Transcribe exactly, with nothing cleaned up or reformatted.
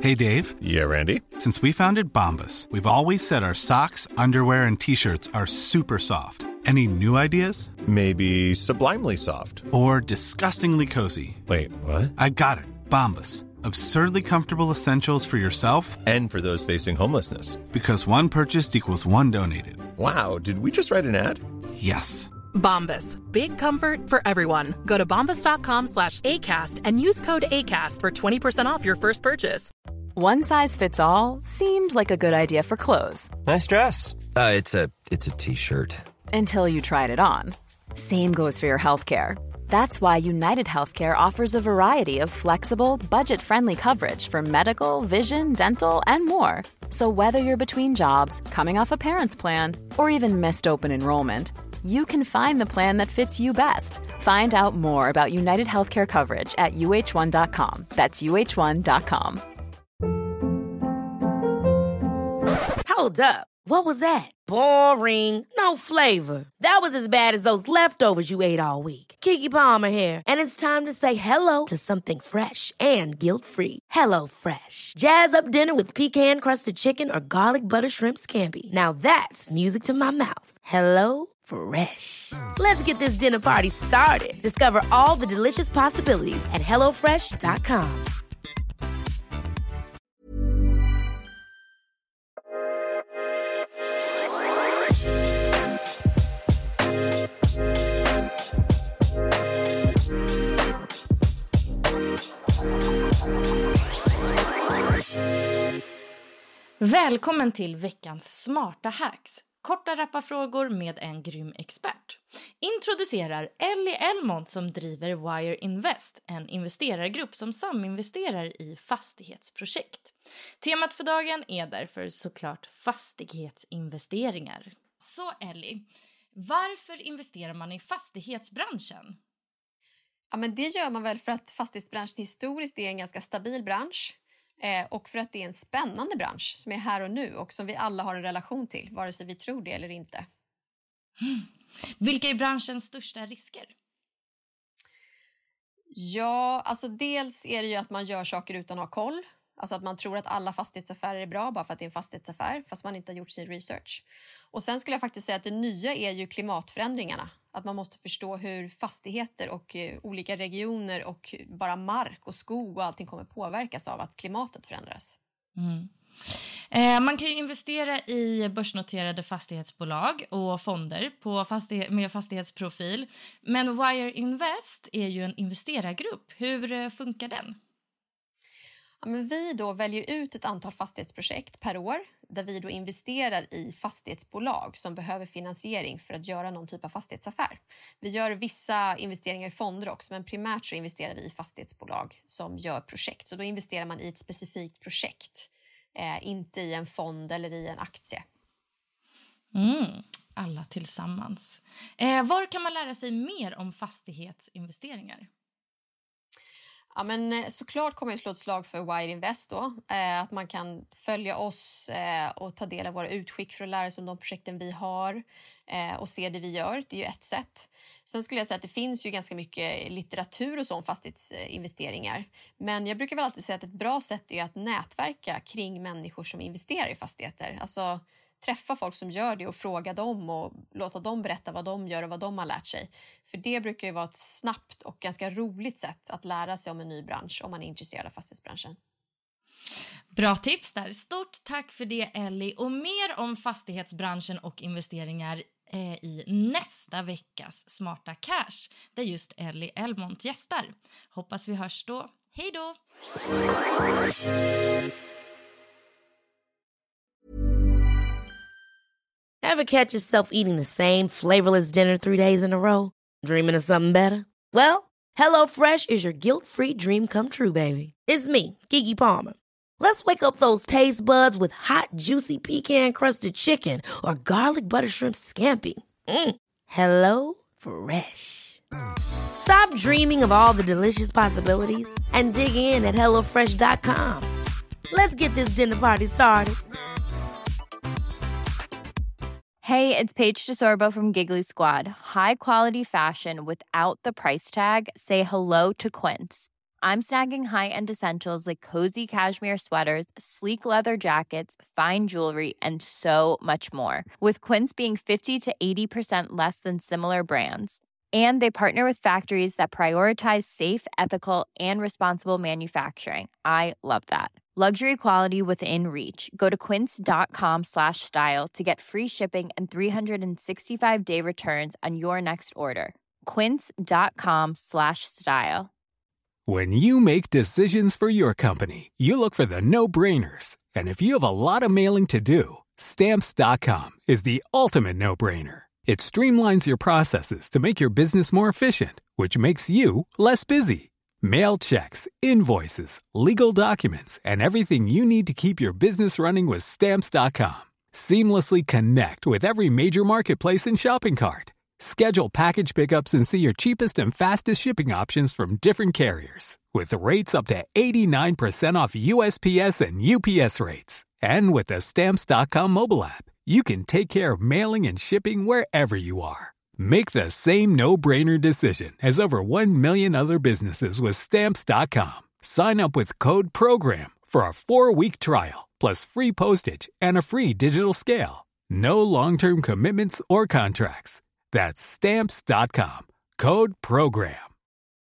Hey, Dave. Yeah, Randy. Since we founded Bombas, we've always said our socks, underwear, and T-shirts are super soft. Any new ideas? Maybe sublimely soft. Or disgustingly cozy. Wait, what? I got it. Bombas. Absurdly comfortable essentials for yourself and for those facing homelessness. Because one purchased equals one donated. Wow, did we just write an ad? Yes. Bombas. Big comfort for everyone. Go to bombas.com slash ACAST and use code ACAST for twenty percent off your first purchase. One size fits all seemed like a good idea for clothes. Nice dress. Uh, it's a it's a t-shirt. Until you tried it on. Same goes for your healthcare. That's why United Healthcare offers a variety of flexible, budget-friendly coverage for medical, vision, dental, and more. So whether you're between jobs, coming off a parent's plan, or even missed open enrollment, you can find the plan that fits you best. Find out more about United Healthcare coverage at U H one dot com. That's U H one dot com. Hold up. What was that? Boring. No flavor. That was as bad as those leftovers you ate all week. Keke Palmer here, and it's time to say hello to something fresh and guilt-free. Hello Fresh. Jazz up dinner with pecan-crusted chicken or garlic butter shrimp scampi. Now that's music to my mouth. Hello Fresh. Let's get this dinner party started. Discover all the delicious possibilities at hello fresh dot com. Välkommen till veckans smarta hacks. Korta rapparfrågor med en grym expert. Introducerar Ellie Elmont som driver Wire Invest, en investerargrupp som saminvesterar i fastighetsprojekt. Temat för dagen är därför såklart fastighetsinvesteringar. Så Ellie, varför investerar man i fastighetsbranschen? Ja, men det gör man väl för att fastighetsbranschen historiskt är en ganska stabil bransch. Eh, och för att det är en spännande bransch som är här och nu och som vi alla har en relation till, vare sig vi tror det eller inte. Mm. Vilka är branschens största risker? Ja, alltså dels är det ju att man gör saker utan att ha koll. Alltså att man tror att alla fastighetsaffärer är bra bara för att det är en fastighetsaffär, fast man inte har gjort sin research. Och sen skulle jag faktiskt säga att det nya är ju klimatförändringarna. Att man måste förstå hur fastigheter och uh, olika regioner och bara mark och skog och allting kommer påverkas av att klimatet förändras. Mm. Eh, man kan ju investera i börsnoterade fastighetsbolag och fonder på fastighet, med fastighetsprofil. Men Wire Invest är ju en investerargrupp. Hur uh, funkar den? Ja, men vi då väljer ut ett antal fastighetsprojekt per år där vi då investerar i fastighetsbolag som behöver finansiering för att göra någon typ av fastighetsaffär. Vi gör vissa investeringar i fonder också, men primärt så investerar vi i fastighetsbolag som gör projekt. Så då investerar man i ett specifikt projekt, eh, inte i en fond eller i en aktie. Mm, alla tillsammans. Eh, var kan man lära sig mer om fastighetsinvesteringar? Ja, men såklart kommer jag slå ett slag för Wire Invest då. Eh, att man kan följa oss eh, och ta del av våra utskick för att lära sig om de projekten vi har eh, och se det vi gör. Det är ju ett sätt. Sen skulle jag säga att det finns ju ganska mycket litteratur och sån fastighetsinvesteringar. Men jag brukar väl alltid säga att ett bra sätt är att nätverka kring människor som investerar i fastigheter. Alltså träffa folk som gör det och fråga dem och låta dem berätta vad de gör och vad de har lärt sig. För det brukar ju vara ett snabbt och ganska roligt sätt att lära sig om en ny bransch om man är intresserad av fastighetsbranschen. Bra tips där. Stort tack för det Ellie. Och mer om fastighetsbranschen och investeringar eh, i nästa veckas Smarta Cash där just Ellie Elmont gästar. Hoppas vi hörs då. Hej då! Ever catch yourself eating the same flavorless dinner three days in a row? Dreaming of something better? Well, HelloFresh is your guilt-free dream come true, baby. It's me, Keke Palmer. Let's wake up those taste buds with hot, juicy pecan-crusted chicken or garlic butter shrimp scampi. Mm. Hello Fresh. Stop dreaming of all the delicious possibilities and dig in at hello fresh dot com. Let's get this dinner party started. Hey, it's Paige DeSorbo from Giggly Squad. High quality fashion without the price tag. Say hello to Quince. I'm snagging high-end essentials like cozy cashmere sweaters, sleek leather jackets, fine jewelry, and so much more. With Quince being fifty to eighty percent less than similar brands. And they partner with factories that prioritize safe, ethical, and responsible manufacturing. I love that. Luxury quality within reach. Go to quince.com slash style to get free shipping and three sixty-five day returns on your next order. Quince.com slash style. When you make decisions for your company, you look for the no-brainers. And if you have a lot of mailing to do, Stamps dot com is the ultimate no-brainer. It streamlines your processes to make your business more efficient, which makes you less busy. Mail checks, invoices, legal documents, and everything you need to keep your business running with Stamps dot com. Seamlessly connect with every major marketplace and shopping cart. Schedule package pickups and see your cheapest and fastest shipping options from different carriers. With rates up to eighty-nine percent off U S P S and U P S rates. And with the Stamps dot com mobile app, you can take care of mailing and shipping wherever you are. Make the same no-brainer decision as over one million other businesses with Stamps dot com. Sign up with code PROGRAM for a four-week trial, plus free postage and a free digital scale. No long-term commitments or contracts. That's Stamps dot com. Code PROGRAM.